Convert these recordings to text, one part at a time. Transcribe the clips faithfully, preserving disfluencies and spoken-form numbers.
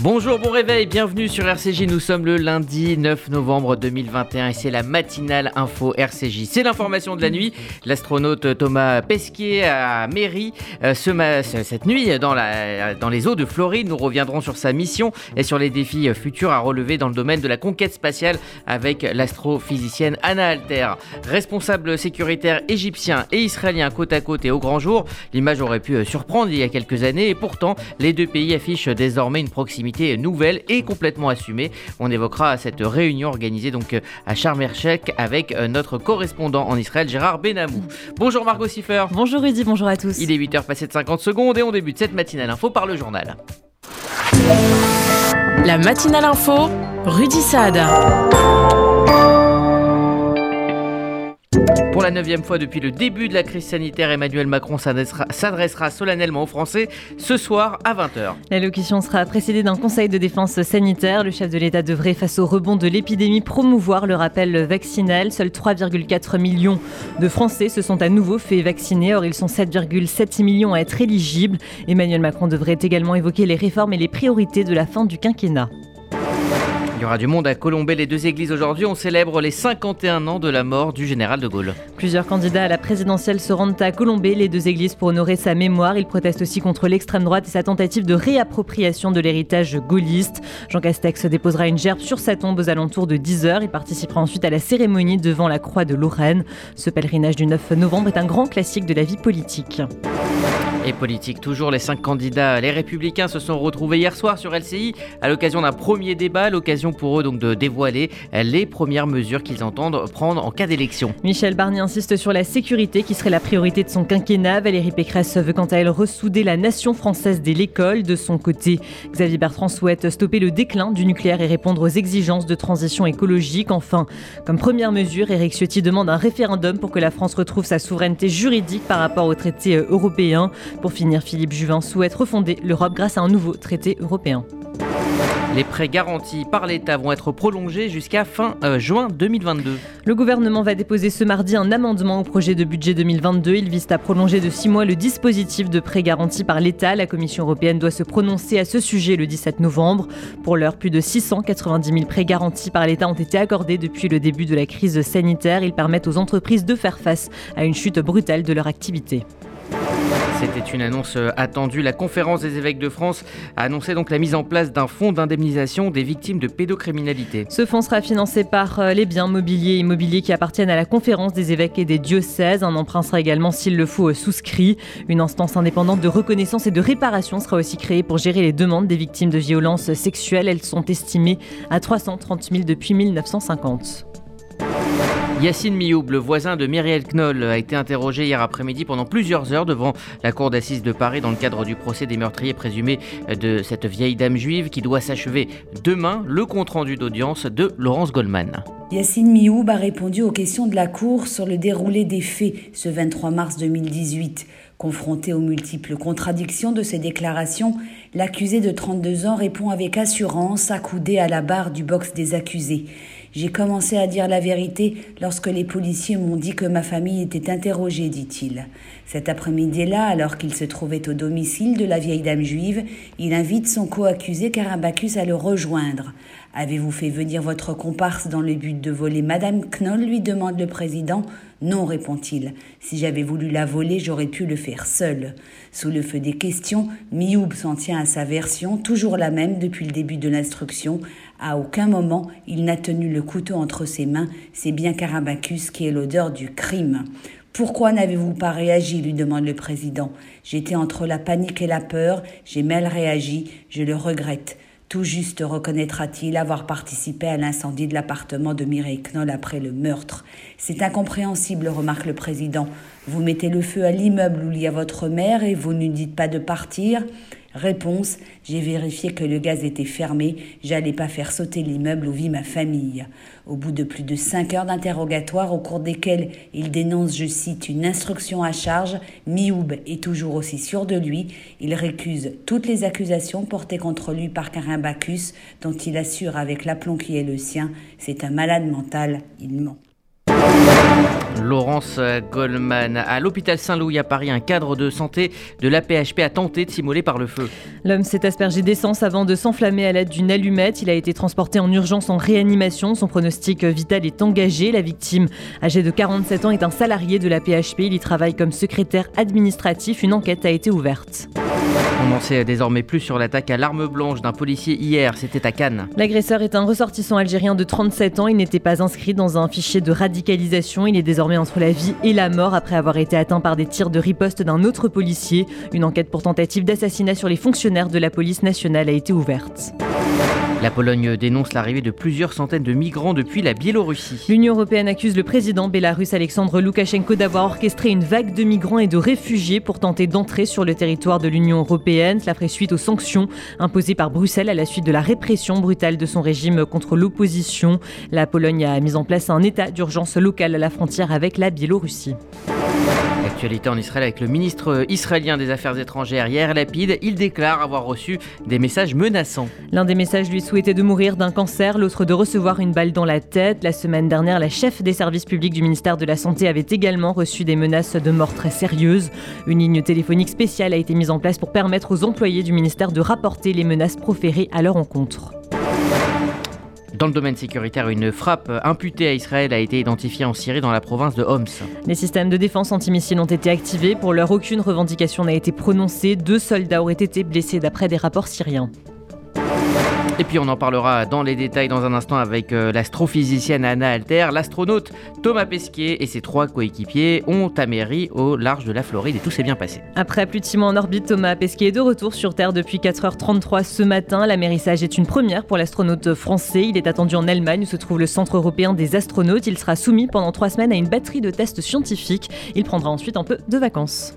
Bonjour, bon réveil, bienvenue sur R C J. Nous sommes le lundi neuf novembre deux mille vingt et un et c'est la matinale info R C J. C'est l'information de la nuit. L'astronaute Thomas Pesquet a méri euh, ce ma- cette nuit dans, la, dans les eaux de Floride. Nous reviendrons sur sa mission et sur les défis futurs à relever dans le domaine de la conquête spatiale avec l'astrophysicienne Anna Alter. Responsable sécuritaire égyptien et israélien côte à côte et au grand jour, l'image aurait pu surprendre il y a quelques années et pourtant les deux pays affichent désormais une proximité nouvelle et complètement assumée. On évoquera cette réunion organisée donc à Sharm el-Sheikh avec notre correspondant en Israël Gérard Benamou. Bonjour Margot Siffer. Bonjour Rudy, bonjour à tous. Il est huit heures passées de cinquante secondes et on débute cette matinale info par le journal. La matinale info, Rudy Saad. Pour la neuvième fois depuis le début de la crise sanitaire, Emmanuel Macron s'adressera, s'adressera solennellement aux Français ce soir à vingt heures. L'allocution sera précédée d'un conseil de défense sanitaire. Le chef de l'État devrait, face au rebond de l'épidémie, promouvoir le rappel vaccinal. Seuls trois virgule quatre millions de Français se sont à nouveau fait vacciner. Or, ils sont sept virgule sept millions à être éligibles. Emmanuel Macron devrait également évoquer les réformes et les priorités de la fin du quinquennat. Il y aura du monde à Colombey, les deux églises aujourd'hui. On célèbre les cinquante et un ans de la mort du général de Gaulle. Plusieurs candidats à la présidentielle se rendent à Colombey, les deux églises, pour honorer sa mémoire. Ils protestent aussi contre l'extrême droite et sa tentative de réappropriation de l'héritage gaulliste. Jean Castex déposera une gerbe sur sa tombe aux alentours de dix heures. Il participera ensuite à la cérémonie devant la Croix de Lorraine. Ce pèlerinage du neuf novembre est un grand classique de la vie politique. Et politique toujours, les cinq candidats, les Républicains, se sont retrouvés hier soir sur L C I à l'occasion d'un premier débat, l'occasion pour eux donc de dévoiler les premières mesures qu'ils entendent prendre en cas d'élection. Michel Barnier insiste sur la sécurité qui serait la priorité de son quinquennat. Valérie Pécresse veut quant à elle ressouder la nation française dès l'école. De son côté, Xavier Bertrand souhaite stopper le déclin du nucléaire et répondre aux exigences de transition écologique. Enfin, comme première mesure, Éric Ciotti demande un référendum pour que la France retrouve sa souveraineté juridique par rapport aux traités européens. Pour finir, Philippe Juvin souhaite refonder l'Europe grâce à un nouveau traité européen. Les prêts garantis par l'État vont être prolongés jusqu'à fin euh, juin deux mille vingt-deux. Le gouvernement va déposer ce mardi un amendement au projet de budget deux mille vingt-deux. Il vise à prolonger de six mois le dispositif de prêts garantis par l'État. La Commission européenne doit se prononcer à ce sujet le dix-sept novembre. Pour l'heure, plus de six cent quatre-vingt-dix mille prêts garantis par l'État ont été accordés depuis le début de la crise sanitaire. Ils permettent aux entreprises de faire face à une chute brutale de leur activité. C'était une annonce attendue. La conférence des évêques de France a annoncé donc la mise en place d'un fonds d'indemnisation des victimes de pédocriminalité. Ce fonds sera financé par les biens mobiliers et immobiliers qui appartiennent à la conférence des évêques et des diocèses. Un emprunt sera également, s'il le faut, souscrit. Une instance indépendante de reconnaissance et de réparation sera aussi créée pour gérer les demandes des victimes de violences sexuelles. Elles sont estimées à trois cent trente mille depuis mille neuf cent cinquante. Yacine Mioub, le voisin de Myriel Knoll, a été interrogé hier après-midi pendant plusieurs heures devant la cour d'assises de Paris dans le cadre du procès des meurtriers présumés de cette vieille dame juive qui doit s'achever demain. Le compte-rendu d'audience de Laurence Goldman. Yacine Mioub a répondu aux questions de la cour sur le déroulé des faits ce vingt-trois mars deux mille dix-huit. Confronté aux multiples contradictions de ses déclarations, l'accusé de trente-deux ans répond avec assurance, accoudé à la barre du box des accusés. J'ai commencé à dire la vérité lorsque les policiers m'ont dit que ma famille était interrogée, dit-il. Cet après-midi-là, alors qu'il se trouvait au domicile de la vieille dame juive, il invite son co-accusé Karim Bacchus à le rejoindre. « Avez-vous fait venir votre comparse dans le but de voler Madame Knoll ?» lui demande le président. « Non, répond-il. Si j'avais voulu la voler, j'aurais pu le faire seul. » Sous le feu des questions, Mioub s'en tient à sa version, toujours la même depuis le début de l'instruction. À aucun moment, il n'a tenu le couteau entre ses mains. C'est bien Karim Bacchus qui est l'odeur du crime. « Pourquoi n'avez-vous pas réagi ?» lui demande le président. « J'étais entre la panique et la peur. J'ai mal réagi. Je le regrette. » Tout juste reconnaîtra-t-il avoir participé à l'incendie de l'appartement de Mireille Knoll après le meurtre. « C'est incompréhensible, remarque le président. Vous mettez le feu à l'immeuble où il y a votre mère et vous ne dites pas de partir ?» Réponse, j'ai vérifié que le gaz était fermé, j'allais pas faire sauter l'immeuble où vit ma famille. Au bout de plus de cinq heures d'interrogatoire au cours desquels il dénonce, je cite, une instruction à charge, Mioub est toujours aussi sûr de lui. Il récuse toutes les accusations portées contre lui par Karim Bacchus, dont il assure avec l'aplomb qui est le sien, c'est un malade mental, il ment. Laurence Goldman. À l'hôpital Saint-Louis à Paris, un cadre de santé de l'A P H P a tenté de s'immoler par le feu. L'homme s'est aspergé d'essence avant de s'enflammer à l'aide d'une allumette. Il a été transporté en urgence en réanimation. Son pronostic vital est engagé. La victime, âgée de quarante-sept ans, est un salarié de l'A P H P. Il y travaille comme secrétaire administratif. Une enquête a été ouverte. On en sait désormais plus sur l'attaque à l'arme blanche d'un policier hier, c'était à Cannes. L'agresseur est un ressortissant algérien de trente-sept ans. Il n'était pas inscrit dans un fichier de radicalisation. Il est désormais entre la vie et la mort après avoir été atteint par des tirs de riposte d'un autre policier. Une enquête pour tentative d'assassinat sur les fonctionnaires de la police nationale a été ouverte. La Pologne dénonce l'arrivée de plusieurs centaines de migrants depuis la Biélorussie. L'Union européenne accuse le président bélarusse Alexandre Loukachenko d'avoir orchestré une vague de migrants et de réfugiés pour tenter d'entrer sur le territoire de l'Union européenne. Cela ferait suite aux sanctions imposées par Bruxelles à la suite de la répression brutale de son régime contre l'opposition. La Pologne a mis en place un état d'urgence local à la frontière avec la Biélorussie. L'actualité en Israël avec le ministre israélien des Affaires étrangères Yair Lapid. Il déclare avoir reçu des messages menaçants. L'un des messages lui souhaitait de mourir d'un cancer, l'autre de recevoir une balle dans la tête. La semaine dernière, la chef des services publics du ministère de la Santé avait également reçu des menaces de mort très sérieuses. Une ligne téléphonique spéciale a été mise en place pour permettre aux employés du ministère de rapporter les menaces proférées à leur encontre. Dans le domaine sécuritaire, une frappe imputée à Israël a été identifiée en Syrie dans la province de Homs. Les systèmes de défense antimissiles ont été activés. Pour l'heure, aucune revendication n'a été prononcée. Deux soldats auraient été blessés d'après des rapports syriens. Et puis on en parlera dans les détails dans un instant avec euh, l'astrophysicienne Anna Alter. L'astronaute Thomas Pesquet et ses trois coéquipiers ont atterri au large de la Floride et tout s'est bien passé. Après plus de six mois en orbite, Thomas Pesquet est de retour sur Terre depuis quatre heures trente-trois ce matin. L'amérissage est une première pour l'astronaute français. Il est attendu en Allemagne où se trouve le Centre européen des astronautes. Il sera soumis pendant trois semaines à une batterie de tests scientifiques. Il prendra ensuite un peu de vacances.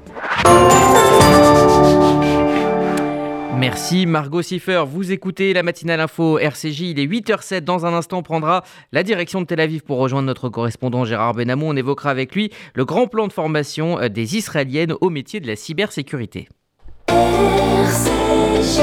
Merci Margot Siffer, vous écoutez la matinale info R C J, il est huit heures zéro sept, dans un instant on prendra la direction de Tel Aviv pour rejoindre notre correspondant Gérard Benamou. On évoquera avec lui le grand plan de formation des Israéliennes au métier de la cybersécurité. R C J.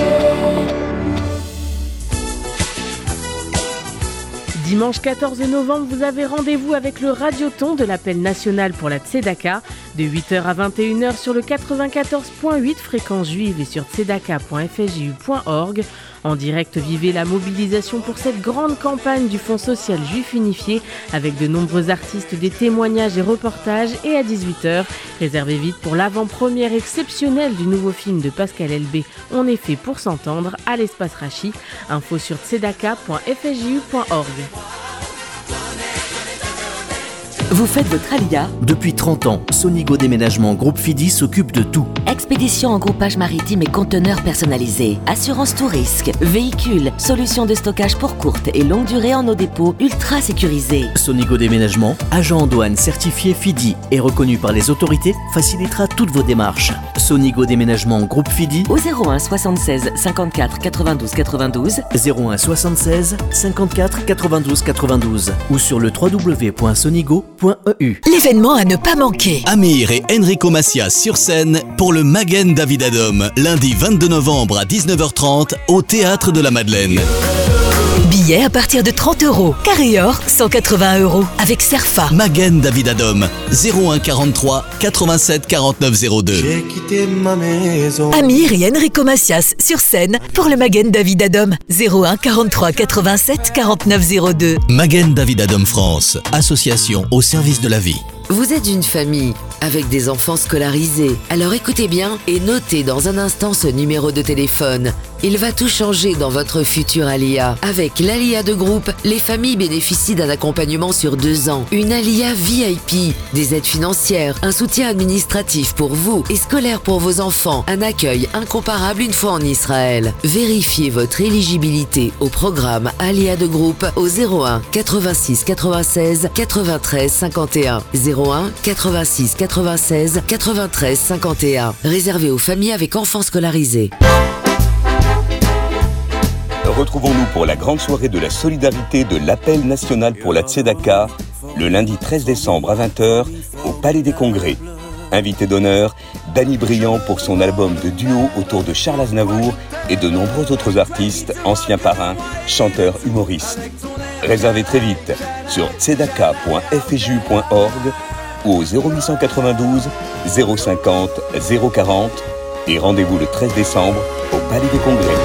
Dimanche quatorze novembre, vous avez rendez-vous avec le radioton de l'appel national pour la Tzedaka de huit heures à vingt et une heures sur le quatre-vingt-quatorze virgule huit fréquence juive et sur tzedaka point f s j u point org. En direct, vivez la mobilisation pour cette grande campagne du Fonds social juif unifié avec de nombreux artistes, des témoignages et reportages. Et à dix-huit heures, réservez vite pour l'avant-première exceptionnelle du nouveau film de Pascal Elbé, On est fait pour s'entendre, à l'espace Rachi. Info sur tzedaka point f s j u point org. Vous faites votre alia ? Depuis trente ans, Sonigo Déménagement Groupe Fidi s'occupe de tout. Expédition en groupage maritime et conteneurs personnalisés, assurance tout risque, véhicules, solutions de stockage pour courte et longue durée en nos dépôts ultra sécurisés. Sonigo Déménagement, agent en douane certifié Fidi et reconnu par les autorités, facilitera toutes vos démarches. Sonigo Déménagement Groupe Fidi au zéro un soixante-seize cinquante-quatre quatre-vingt-douze quatre-vingt-douze, zéro un soixante-seize cinquante-quatre quatre-vingt-douze quatre-vingt-douze ou sur le w w w point sonigo point e u. L'événement à ne pas manquer. Amir et Enrico Macias sur scène pour le Magen David Adom, lundi vingt-deux novembre à dix-neuf heures trente au Théâtre de la Madeleine. Billets à partir de trente euros. Carré or, cent quatre-vingts euros. Avec Cerfa. Magen David Adom, zéro un quarante-trois quatre-vingt-sept quarante-neuf zéro deux. J'ai quitté ma maison. Amir et Enrico Macias sur scène pour le Magen David Adom, zéro un quarante-trois quatre-vingt-sept quarante-neuf zéro deux. Magen David Adom France, association au service de la vie. Vous êtes une famille avec des enfants scolarisés. Alors écoutez bien et notez dans un instant ce numéro de téléphone. Il va tout changer dans votre futur Alia. Avec l'Alia de groupe, les familles bénéficient d'un accompagnement sur deux ans. Une Alia V I P, des aides financières, un soutien administratif pour vous et scolaire pour vos enfants, un accueil incomparable une fois en Israël. Vérifiez votre éligibilité au programme Alia de groupe au zéro un quatre-vingt-six quatre-vingt-seize quatre-vingt-treize cinquante et un. zéro un quatre-vingt-six quatre-vingt-seize quatre-vingt-treize cinquante et un. Réservé aux familles avec enfants scolarisés. Retrouvons-nous pour la grande soirée de la solidarité de l'appel national pour la Tzedaka, le lundi treize décembre à vingt heures au Palais des Congrès. Invité d'honneur, Danny Briand pour son album de duo autour de Charles Aznavour et de nombreux autres artistes, anciens parrains, chanteurs, humoristes. Réservez très vite sur tzedaka point f s j u point org ou au zéro huit cent quatre-vingt-douze zéro cinquante zéro quarante et rendez-vous le treize décembre au Palais des Congrès.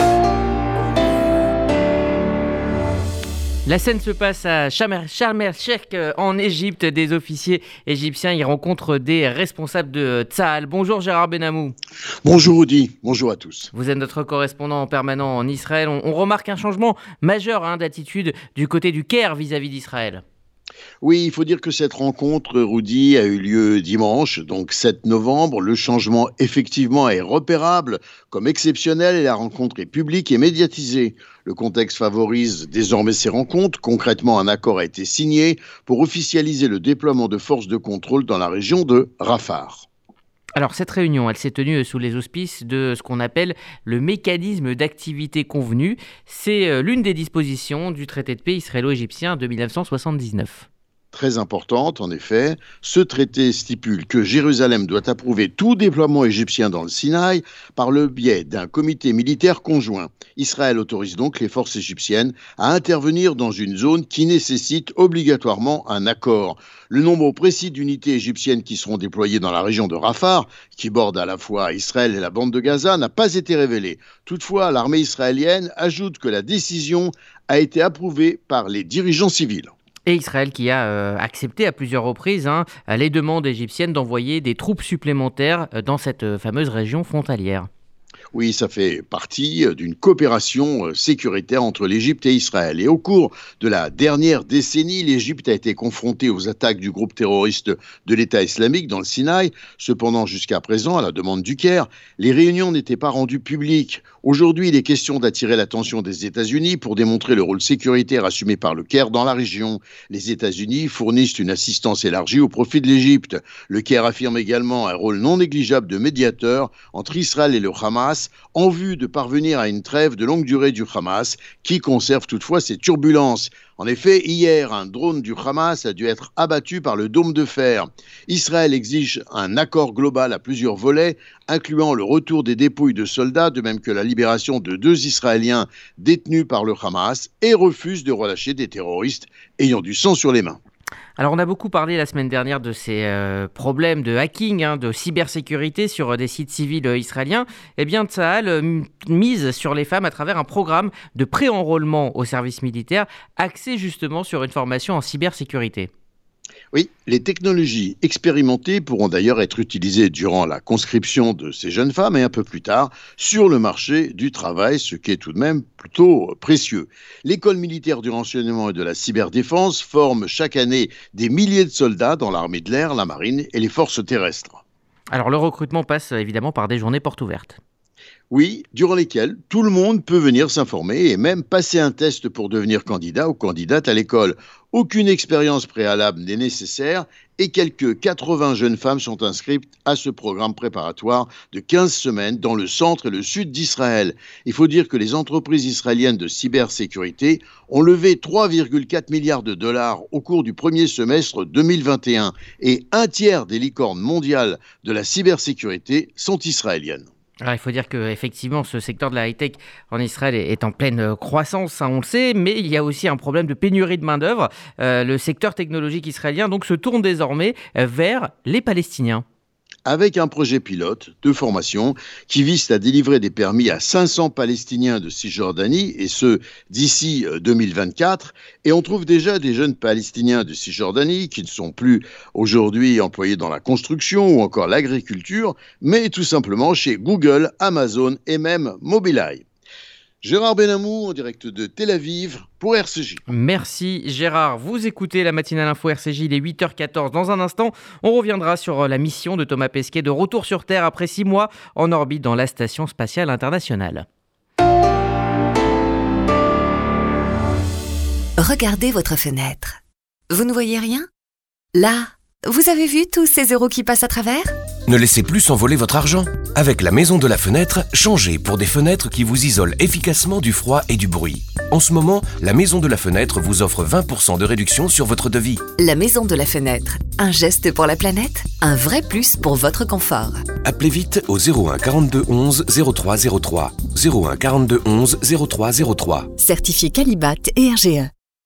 La scène se passe à Sharm el-Sheikh en Égypte. Des officiers égyptiens y rencontrent des responsables de Tsahal. Bonjour Gérard Benamou. Bonjour Audi, bonjour à tous. Vous êtes notre correspondant permanent en Israël. On, on remarque un changement majeur hein, d'attitude du côté du Caire vis-à-vis d'Israël. Oui, il faut dire que cette rencontre, Rudy, a eu lieu dimanche, donc sept novembre. Le changement, effectivement, est repérable comme exceptionnel et la rencontre est publique et médiatisée. Le contexte favorise désormais ces rencontres. Concrètement, un accord a été signé pour officialiser le déploiement de forces de contrôle dans la région de Rafah. Alors cette réunion, elle s'est tenue sous les auspices de ce qu'on appelle le mécanisme d'activité convenu. C'est l'une des dispositions du traité de paix israélo-égyptien de mille neuf cent soixante-dix-neuf. Très importante, en effet. Ce traité stipule que Jérusalem doit approuver tout déploiement égyptien dans le Sinaï par le biais d'un comité militaire conjoint. Israël autorise donc les forces égyptiennes à intervenir dans une zone qui nécessite obligatoirement un accord. Le nombre précis d'unités égyptiennes qui seront déployées dans la région de Rafah, qui borde à la fois Israël et la bande de Gaza, n'a pas été révélé. Toutefois, l'armée israélienne ajoute que la décision a été approuvée par les dirigeants civils. Et Israël qui a euh, accepté à plusieurs reprises hein, les demandes égyptiennes d'envoyer des troupes supplémentaires dans cette euh, fameuse région frontalière. Oui, ça fait partie d'une coopération sécuritaire entre l'Égypte et Israël. Et au cours de la dernière décennie, l'Égypte a été confrontée aux attaques du groupe terroriste de l'État islamique dans le Sinaï. Cependant, jusqu'à présent, à la demande du Caire, les réunions n'étaient pas rendues publiques. Aujourd'hui, il est question d'attirer l'attention des États-Unis pour démontrer le rôle sécuritaire assumé par le Caire dans la région. Les États-Unis fournissent une assistance élargie au profit de l'Égypte. Le Caire affirme également un rôle non négligeable de médiateur entre Israël et le Hamas, en vue de parvenir à une trêve de longue durée du Hamas, qui conserve toutefois ses turbulences. En effet, hier, un drone du Hamas a dû être abattu par le dôme de fer. Israël exige un accord global à plusieurs volets, incluant le retour des dépouilles de soldats, de même que la libération de deux Israéliens détenus par le Hamas, et refuse de relâcher des terroristes ayant du sang sur les mains. Alors on a beaucoup parlé la semaine dernière de ces euh, problèmes de hacking, hein, de cybersécurité sur euh, des sites civils euh, israéliens. Eh bien Tsahal euh, mise sur les femmes à travers un programme de pré-enrôlement au service militaire axé justement sur une formation en cybersécurité. Oui, les technologies expérimentées pourront d'ailleurs être utilisées durant la conscription de ces jeunes femmes et un peu plus tard sur le marché du travail, ce qui est tout de même plutôt précieux. L'école militaire du renseignement et de la cyberdéfense forme chaque année des milliers de soldats dans l'armée de l'air, la marine et les forces terrestres. Alors le recrutement passe évidemment par des journées portes ouvertes. Oui, durant lesquelles tout le monde peut venir s'informer et même passer un test pour devenir candidat ou candidate à l'école. Aucune expérience préalable n'est nécessaire et quelques quatre-vingts jeunes femmes sont inscrites à ce programme préparatoire de quinze semaines dans le centre et le sud d'Israël. Il faut dire que les entreprises israéliennes de cybersécurité ont levé trois virgule quatre milliards de dollars au cours du premier semestre deux mille vingt et un et un tiers des licornes mondiales de la cybersécurité sont israéliennes. Alors, il faut dire qu'effectivement, ce secteur de la high-tech en Israël est en pleine croissance, hein, on le sait, mais il y a aussi un problème de pénurie de main-d'œuvre. Euh, le secteur technologique israélien donc, se tourne désormais vers les Palestiniens. Avec un projet pilote de formation qui vise à délivrer des permis à cinq cents Palestiniens de Cisjordanie, et ce, d'ici deux mille vingt-quatre. Et on trouve déjà des jeunes Palestiniens de Cisjordanie qui ne sont plus aujourd'hui employés dans la construction ou encore l'agriculture, mais tout simplement chez Google, Amazon et même Mobileye. Gérard Benamou en direct de Tel Aviv pour R C J. Merci Gérard. Vous écoutez la matinale info R C J, il est huit heures quatorze. Dans un instant, on reviendra sur la mission de Thomas Pesquet de retour sur Terre après six mois en orbite dans la Station spatiale internationale. Regardez votre fenêtre. Vous ne voyez rien ? Là, vous avez vu tous ces euros qui passent à travers ? Ne laissez plus s'envoler votre argent. Avec la Maison de la Fenêtre, changez pour des fenêtres qui vous isolent efficacement du froid et du bruit. En ce moment, la Maison de la Fenêtre vous offre vingt pour cent de réduction sur votre devis. La Maison de la Fenêtre, un geste pour la planète, un vrai plus pour votre confort. Appelez vite au zéro un quarante-deux onze zéro trois zéro trois. zéro un quarante-deux onze zéro trois zéro trois. Certifié Qualibat et R G E.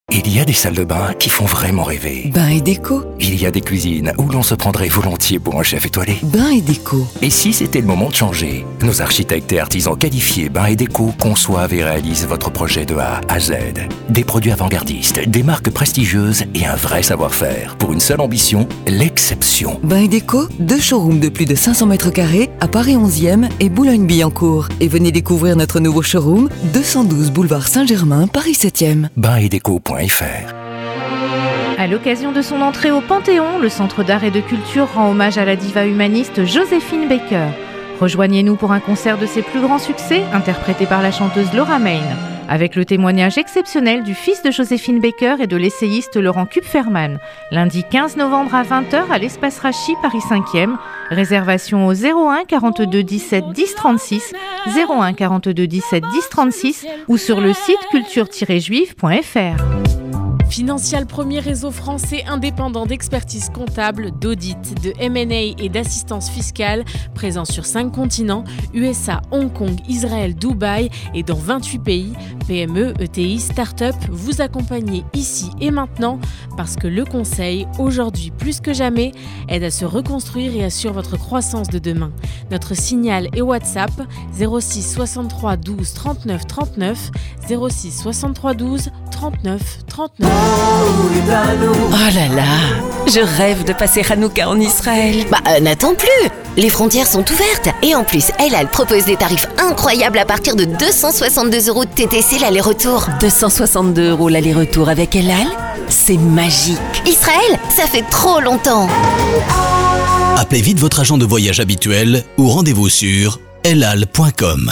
Il y a des salles de bain qui font vraiment rêver. Bain et déco. Il y a des cuisines où l'on se prendrait volontiers pour un chef étoilé. Bain et déco. Et si c'était le moment de changer? Nos architectes et artisans qualifiés Bain et déco conçoivent et réalisent votre projet de A à Z. Des produits avant-gardistes, des marques prestigieuses et un vrai savoir-faire. Pour une seule ambition, l'exception. Bain et déco, deux showrooms de plus de cinq cents mètres carrés à Paris onzième et Boulogne-Billancourt. Et venez découvrir notre nouveau showroom, deux cent douze boulevard Saint-Germain, Paris septième. bain et déco point f r. À l'occasion de son entrée au Panthéon, le Centre d'art et de culture rend hommage à la diva humaniste Joséphine Baker. Rejoignez-nous pour un concert de ses plus grands succès, interprété par la chanteuse Laura Main, avec le témoignage exceptionnel du fils de Joséphine Baker et de l'essayiste Laurent Kupferman, lundi quinze novembre à vingt heures à l'Espace Rachi, Paris cinquième. Réservation au zéro un quarante-deux dix-sept dix trente-six, zéro un quarante-deux dix-sept dix trente-six ou sur le site culture tiret juive point f r. Financial, premier réseau français indépendant d'expertise comptable, d'audit, de M and A et d'assistance fiscale, présent sur cinq continents, U S A, Hong Kong, Israël, Dubaï et dans vingt-huit pays. P M E, E T I, start-up, vous accompagnez ici et maintenant parce que le conseil, aujourd'hui plus que jamais, aide à se reconstruire et assure votre croissance de demain. Notre signal et WhatsApp zéro six soixante-trois douze trente-neuf trente-neuf, zéro six soixante-trois douze trente-neuf trente-neuf. Oh là là, je rêve de passer Hanouka en Israël. Bah euh, n'attends plus, les frontières sont ouvertes et en plus El Al propose des tarifs incroyables à partir de deux cent soixante-deux euros de T T C l'aller-retour. deux cent soixante-deux euros l'aller-retour avec El Al, c'est magique. Israël, ça fait trop longtemps. Appelez vite votre agent de voyage habituel ou rendez-vous sur elal point com.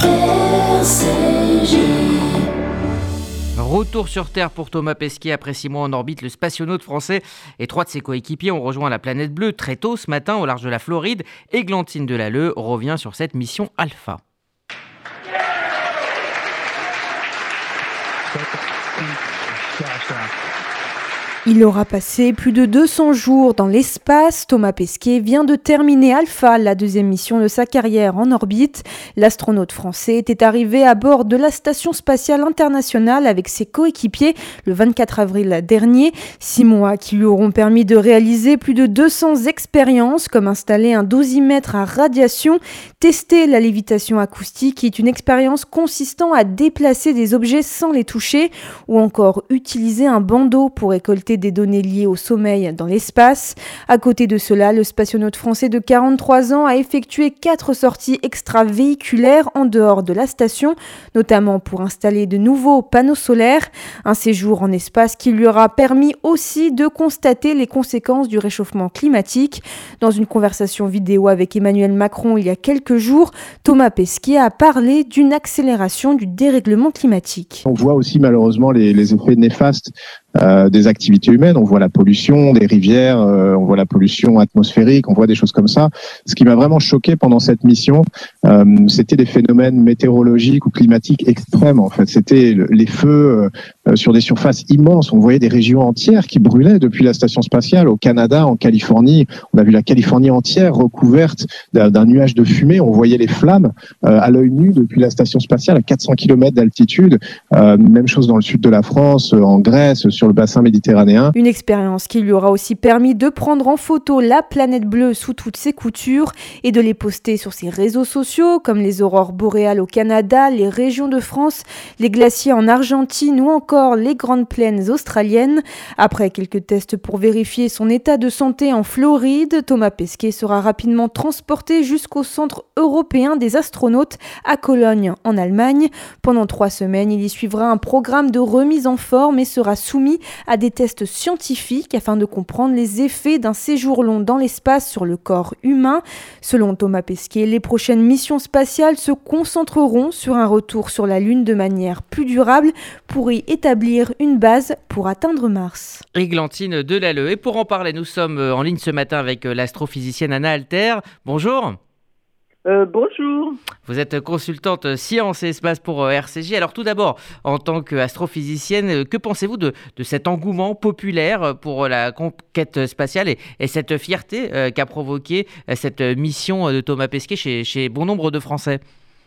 Retour sur Terre pour Thomas Pesquet. Après six mois en orbite, le spationaute français et trois de ses coéquipiers ont rejoint la planète bleue très tôt ce matin au large de la Floride. Églantine Delalleux revient sur cette mission Alpha. Il aura passé plus de deux cents jours dans l'espace. Thomas Pesquet vient de terminer Alpha, la deuxième mission de sa carrière en orbite. L'astronaute français était arrivé à bord de la Station spatiale internationale avec ses coéquipiers le vingt-quatre avril dernier. Six mois qui lui auront permis de réaliser plus de deux cents expériences, comme installer un dosimètre à radiation, tester la lévitation acoustique, qui est une expérience consistant à déplacer des objets sans les toucher, ou encore utiliser un bandeau pour récolter des données liées au sommeil dans l'espace. À côté de cela, le spationaute français de quarante-trois ans a effectué quatre sorties extravéhiculaires en dehors de la station, notamment pour installer de nouveaux panneaux solaires. Un séjour en espace qui lui aura permis aussi de constater les conséquences du réchauffement climatique. Dans une conversation vidéo avec Emmanuel Macron il y a quelques jours, Thomas Pesquet a parlé d'une accélération du dérèglement climatique. On voit aussi malheureusement les, les effets néfastes Euh, des activités humaines. On voit la pollution des rivières, euh, on voit la pollution atmosphérique, on voit des choses comme ça. Ce qui m'a vraiment choqué pendant cette mission, euh, c'était des phénomènes météorologiques ou climatiques extrêmes. En fait, c'était le, les feux euh, sur des surfaces immenses. On voyait des régions entières qui brûlaient depuis la station spatiale. Au Canada, en Californie, on a vu la Californie entière recouverte d'un, d'un nuage de fumée. On voyait les flammes euh, à l'œil nu depuis la station spatiale à quatre cents kilomètres d'altitude. Euh, même chose dans le sud de la France, en Grèce, sur le bassin méditerranéen. Une expérience qui lui aura aussi permis de prendre en photo la planète bleue sous toutes ses coutures et de les poster sur ses réseaux sociaux, comme les aurores boréales au Canada, les régions de France, les glaciers en Argentine ou encore les grandes plaines australiennes. Après quelques tests pour vérifier son état de santé en Floride, Thomas Pesquet sera rapidement transporté jusqu'au Centre européen des astronautes à Cologne, en Allemagne. Pendant trois semaines, il y suivra un programme de remise en forme et sera soumis à des tests scientifiques afin de comprendre les effets d'un séjour long dans l'espace sur le corps humain. Selon Thomas Pesquet, les prochaines missions spatiales se concentreront sur un retour sur la Lune de manière plus durable pour y établir une base pour atteindre Mars. Églantine Delalleux. Et pour en parler, nous sommes en ligne ce matin avec l'astrophysicienne Anna Alter. Bonjour. Euh, bonjour. Vous êtes consultante sciences et espace pour R C J. Alors tout d'abord, en tant qu'astrophysicienne, que pensez-vous de, de cet engouement populaire pour la conquête spatiale et, et cette fierté euh, qu'a provoqué cette mission de Thomas Pesquet chez, chez bon nombre de Français ?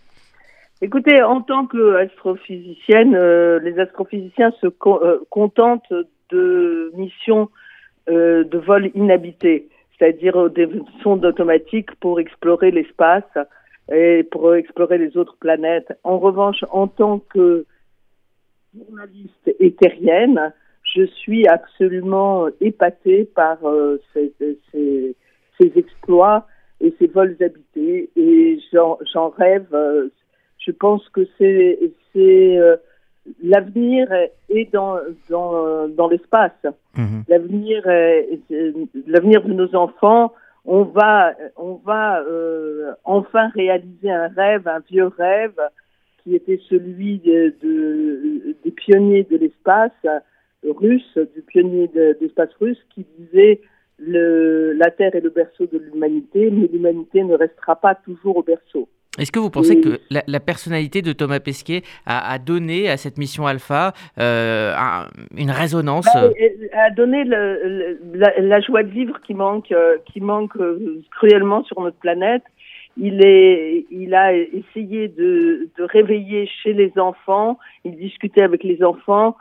Écoutez, en tant qu'astrophysicienne, euh, les astrophysiciens se co- euh, contentent de missions euh, de vol inhabité, c'est-à-dire des sondes automatiques pour explorer l'espace et pour explorer les autres planètes. En revanche, en tant que journaliste éthérienne, je suis absolument épatée par euh, ces, ces, ces exploits et ces vols habités, et j'en, j'en rêve. Euh, je pense que c'est, c'est euh, l'avenir est dans dans, dans l'espace. Mmh. L'avenir est, est, l'avenir de nos enfants. On va on va euh, enfin réaliser un rêve, un vieux rêve qui était celui de, de des pionniers de l'espace russe, du pionnier de, de l'espace russe, qui disait le, la Terre est le berceau de l'humanité, mais l'humanité ne restera pas toujours au berceau. Est-ce que vous pensez Et... que la, la personnalité de Thomas Pesquet a, a donné à cette mission Alpha euh, un, une résonance bah, a donné le, le, la, la joie de vivre qui manque, euh, qui manque euh, cruellement sur notre planète. Il, est, il a essayé de, de réveiller chez les enfants, il discutait avec les enfants,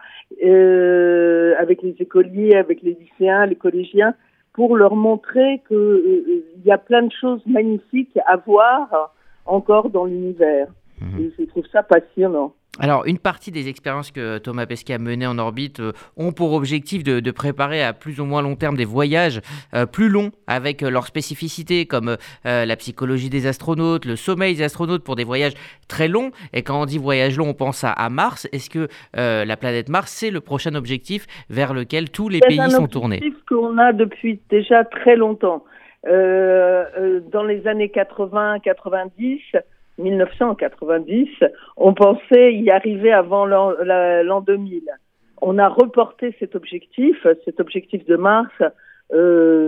euh, avec les écoliers, avec les lycéens, les collégiens, pour leur montrer qu'il euh, y a plein de choses magnifiques à voir encore dans l'univers. Mmh. Et je trouve ça passionnant. Alors, une partie des expériences que Thomas Pesquet a menées en orbite euh, ont pour objectif de, de préparer à plus ou moins long terme des voyages euh, plus longs avec euh, leurs spécificités comme euh, la psychologie des astronautes, le sommeil des astronautes pour des voyages très longs. Et quand on dit voyage long, on pense à, à Mars. Est-ce que euh, la planète Mars, c'est le prochain objectif vers lequel tous les c'est pays sont tournés ? C'est un objectif qu'on a depuis déjà très longtemps. Euh, euh, dans les années quatre-vingts quatre-vingt-dix, mille neuf cent quatre-vingt-dix, on pensait y arriver avant l'an, la, l'an deux mille. On a reporté cet objectif, cet objectif de Mars, euh,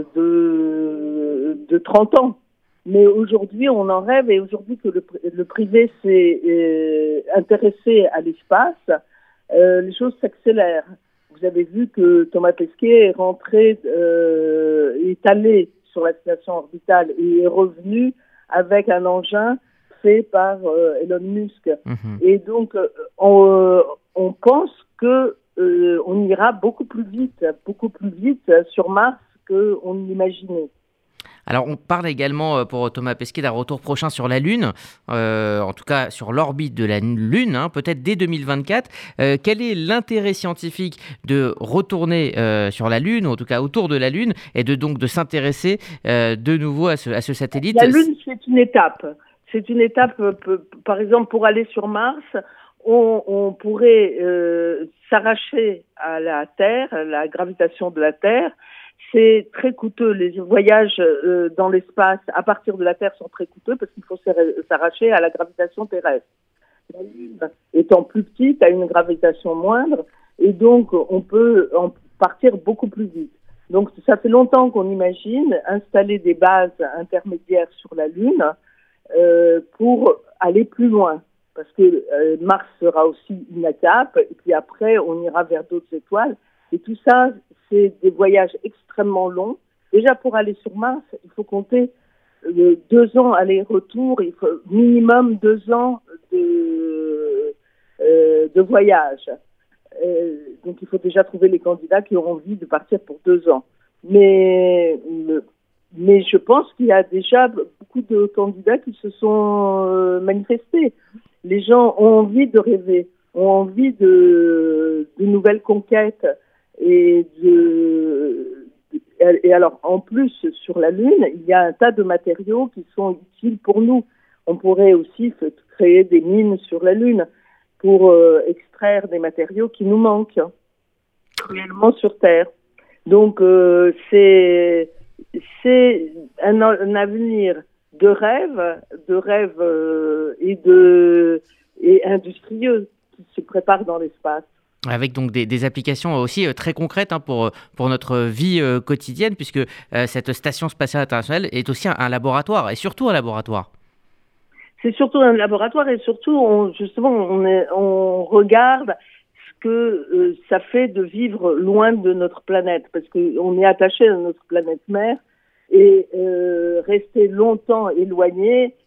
de, de trente ans. Mais aujourd'hui, on en rêve, et aujourd'hui que le, le privé s'est euh, intéressé à l'espace, euh, les choses s'accélèrent. Vous avez vu que Thomas Pesquet est rentré, euh, est allé sur la station orbitale et est revenu avec un engin fait par euh, Elon Musk. Mmh. Et donc, euh, on, euh, on pense que euh, on ira beaucoup plus vite, beaucoup plus vite sur Mars qu'on l'imaginait. Alors, on parle également pour Thomas Pesquet d'un retour prochain sur la Lune, euh, en tout cas sur l'orbite de la Lune, hein, peut-être dès deux mille vingt-quatre. Euh, quel est l'intérêt scientifique de retourner euh, sur la Lune, ou en tout cas autour de la Lune, et de donc de s'intéresser euh, de nouveau à ce, à ce satellite ? La Lune, c'est une étape. C'est une étape, par exemple, pour aller sur Mars, on, on pourrait euh, s'arracher à la Terre, à la gravitation de la Terre. C'est très coûteux. Les voyages euh, dans l'espace à partir de la Terre sont très coûteux parce qu'il faut s'arracher à la gravitation terrestre. La Lune étant plus petite, a une gravitation moindre, et donc on peut en partir beaucoup plus vite. Donc ça fait longtemps qu'on imagine installer des bases intermédiaires sur la Lune euh, pour aller plus loin. Parce que euh, Mars sera aussi une étape, et puis après on ira vers d'autres étoiles. Et tout ça, c'est des voyages extrêmement longs. Déjà, pour aller sur Mars, il faut compter euh, deux ans aller-retour, il faut minimum deux ans de, euh, de voyage. Euh, donc, il faut déjà trouver les candidats qui auront envie de partir pour deux ans. Mais, mais je pense qu'il y a déjà beaucoup de candidats qui se sont euh, manifestés. Les gens ont envie de rêver, ont envie de, de nouvelles conquêtes. Et, de, et alors, en plus, sur la Lune, il y a un tas de matériaux qui sont utiles pour nous. On pourrait aussi créer des mines sur la Lune pour euh, extraire des matériaux qui nous manquent cruellement sur Terre. Donc, euh, c'est, c'est un, un avenir de rêve, de rêve euh, et, de, et industrieux qui se prépare dans l'espace. Avec donc des, des applications aussi euh, très concrètes hein, pour, pour notre vie euh, quotidienne, puisque euh, cette station spatiale internationale est aussi un, un laboratoire, et surtout un laboratoire. C'est surtout un laboratoire, et surtout, on, justement, on, est, on regarde ce que euh, ça fait de vivre loin de notre planète, parce qu'on est attaché à notre planète mère, et euh, rester longtemps éloigné,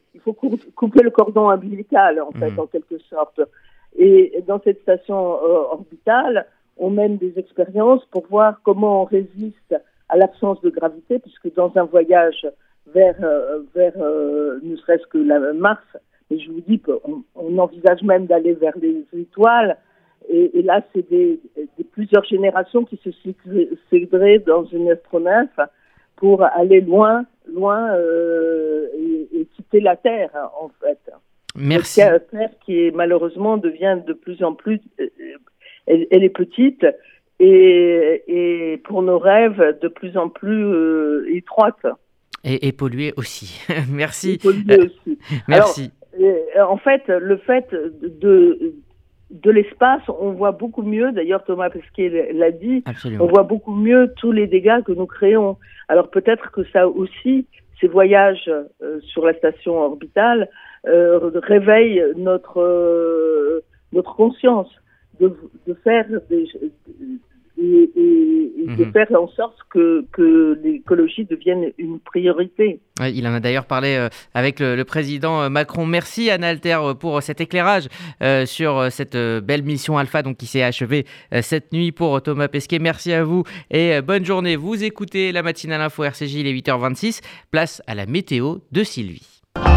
il faut couper le cordon ombilical, en fait, mmh. en quelque sorte. Et dans cette station euh, orbitale, on mène des expériences pour voir comment on résiste à l'absence de gravité, puisque dans un voyage vers, euh, vers euh, ne serait-ce que la Mars, et je vous dis qu'on on envisage même d'aller vers les étoiles, et, et là, c'est des, des plusieurs générations qui se succéderaient dans une astronef pour aller loin, loin euh, et, et quitter la Terre, en fait. Merci. La Terre qui est, malheureusement devient de plus en plus, elle, elle est petite et, et pour nos rêves de plus en plus euh, étroite. Et, et polluée aussi. Merci. Et polluée aussi. Merci. Alors, en fait, le fait de de l'espace, on voit beaucoup mieux, d'ailleurs Thomas Pesquet l'a dit, Absolument. On voit beaucoup mieux tous les dégâts que nous créons. Alors peut-être que ça aussi, ces voyages euh, sur la station orbitale euh, réveillent notre euh, notre conscience de, de faire des, et, et, et de mmh. faire en sorte que, que l'écologie devienne une priorité. Ouais, il en a d'ailleurs parlé euh, avec le, le président Macron. Merci Anna Alter pour cet éclairage euh, sur cette euh, belle mission Alpha donc, qui s'est achevée euh, cette nuit pour Thomas Pesquet. Merci à vous et euh, bonne journée. Vous écoutez la matinale info R C J, il est huit heures vingt-six. Place à la météo de Sylvie.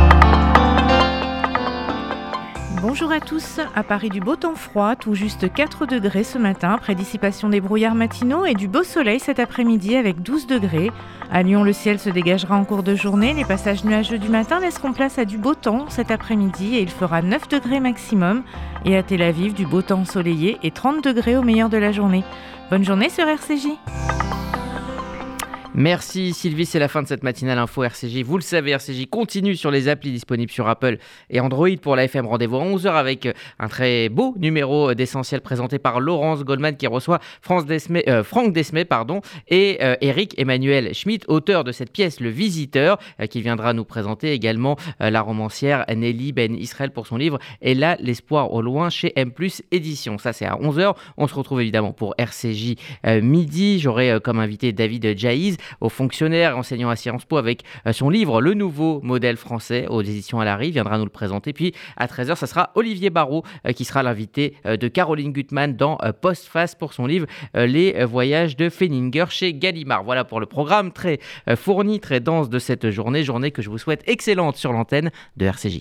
Bonjour à tous. À Paris, du beau temps froid, tout juste quatre degrés ce matin, après dissipation des brouillards matinaux et du beau soleil cet après-midi avec douze degrés. À Lyon, le ciel se dégagera en cours de journée. Les passages nuageux du matin laisseront place à du beau temps cet après-midi et il fera neuf degrés maximum. Et à Tel Aviv, du beau temps ensoleillé et trente degrés au meilleur de la journée. Bonne journée sur R C J. Merci Sylvie, c'est la fin de cette matinale info R C J. Vous le savez, R C J continue sur les applis disponibles sur Apple et Android pour la F M. Rendez-vous à onze heures avec un très beau numéro d'Essentiel présenté par Laurence Goldman qui reçoit France Desmé, euh, Franck Desmé pardon, et euh, Eric Emmanuel Schmitt, auteur de cette pièce Le Visiteur, euh, qui viendra nous présenter également euh, la romancière Nelly Ben Israël pour son livre Et là, l'espoir au loin chez M plus Édition. Ça c'est à onze heures. On se retrouve évidemment pour R C J euh, midi. J'aurai euh, comme invité David Jaïz, aux fonctionnaires enseignant à Sciences Po avec son livre Le Nouveau Modèle Français aux éditions Alary, il viendra nous le présenter. Puis à treize heures, ça sera Olivier Barraud qui sera l'invité de Caroline Gutmann dans Postface pour son livre Les Voyages de Feininger chez Gallimard. Voilà pour le programme très fourni, très dense de cette journée, journée que je vous souhaite excellente sur l'antenne de R C J.